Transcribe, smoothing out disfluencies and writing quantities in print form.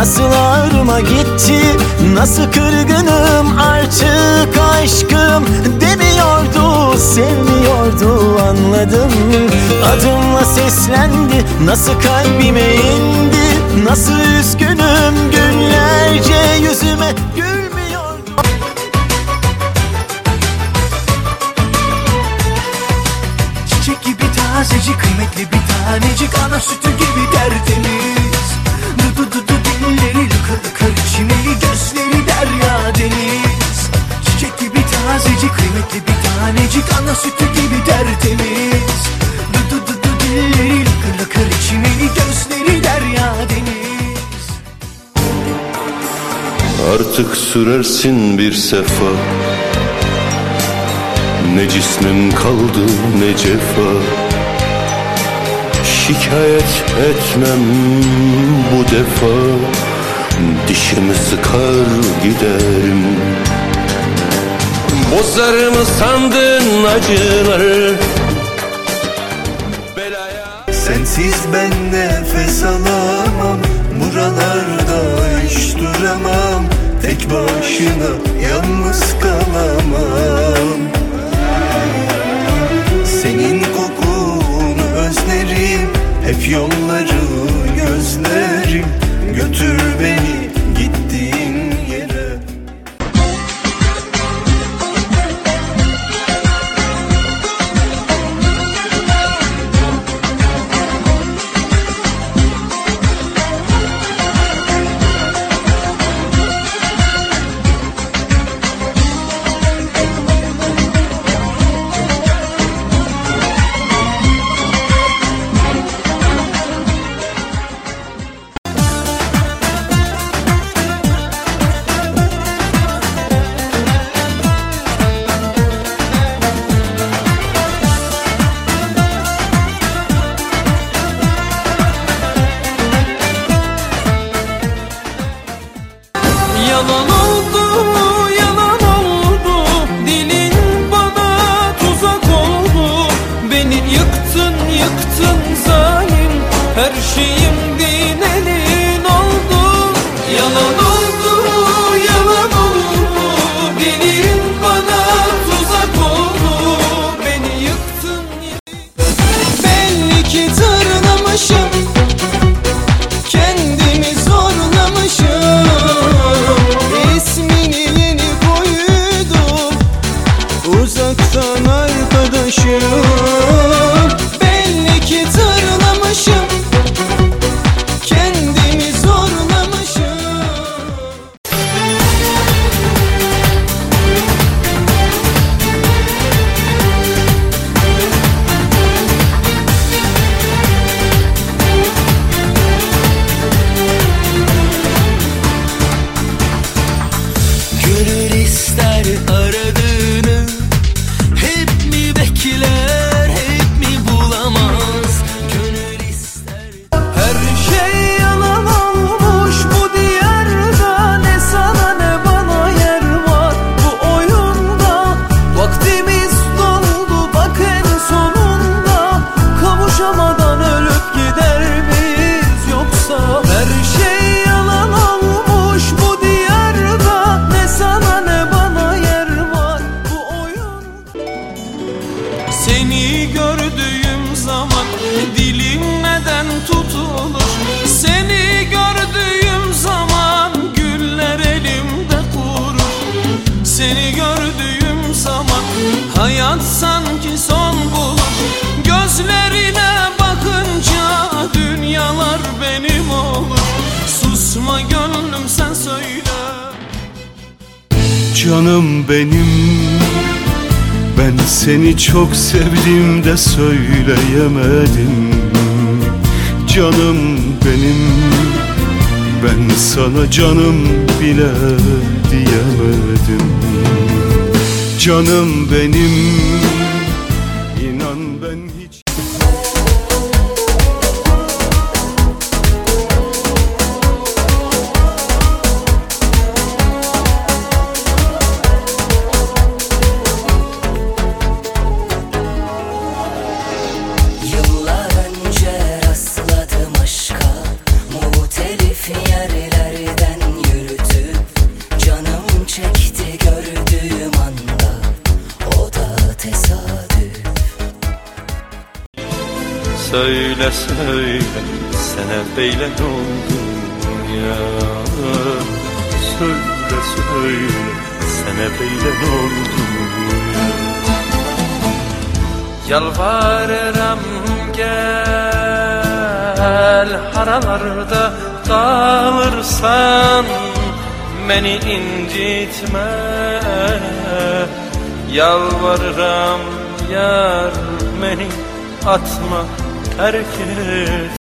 nasıl ağrıma gitti, nasıl kırgınım artık aşkım demiyordu, sevmiyordu anladım. Adımla seslendi, nasıl kalbime indi, nasıl üzgünüm günlerce yüzüme gülmüyordu. Çiçek gibi tazecik, kıymetli bir tanecik, ana sütü gibi tertemiz. Dudu dilleri lıkır lıkır, çimeli gözleri derya deniz. Çiçek gibi tazecik, kıymetli bir tanecik, ana sütü gibi tertemiz. Dudu dilleri lıkır lıkır, çimeli gözleri derya deniz. Artık sürersin bir sefa, ne cismim kaldı ne cefa. Şikayet etmem bu defa, dişimi sıkar giderim. Bozar mı sandın acıları belaya? Sensiz ben nefes alamam, buralarda hiç duramam. Tek başına yalnız kalamam. Senin kokunu özlerim, hep yolları gözlerim. Götür beni gittiğin yere. Yalan oldu, yalan oldu, dilin bana tuzak oldu. Beni yıktın, yıktın zalim, her şeyim din elin oldu. Yalan oldu, yalan oldu, dilin bana tuzak oldu. Beni yıktın, belli ki tırnamışım, kendimi zorlamışım. Uzaktan arkadaşım, belli ki tırlamışım, kendimi zorlamışım. Gönül ister aradığını, hep mi bekler, hep mi bulamaz? Gönül ister. Her şey yalan olmuş bu diyarda, ne sana ne bana yer var bu oyunda. Vaktimiz doldu bak en sonunda, kavuşamadan ölüp gider miyiz yoksa? Her şey yalan olmuş bu diyarda, ne sana ne bana yer var bu oyunda. Seni gördüğüm zaman dilim neden tutulur? Seni gördüğüm zaman güller elimde kurur. Seni gördüğüm zaman hayat sanki son bulur. Gözlerine bakınca dünyalar benim olur. Susma gönlüm sen söyle. Canım benim, ben seni çok sevdim de söyleyemedim. Canım benim, ben sana canım bile diyemedim. Canım benim, inan ben hiç... Yıllar önce rastladım aşka, muhtelif yerlerde. Söyle söyle sana beyle ne oldu ya? Söyle söyle sana beyle ne oldu ya? Yalvarırım gel, haralarda kalırsan beni incitme. Yalvarırım yar, beni atma, terk et.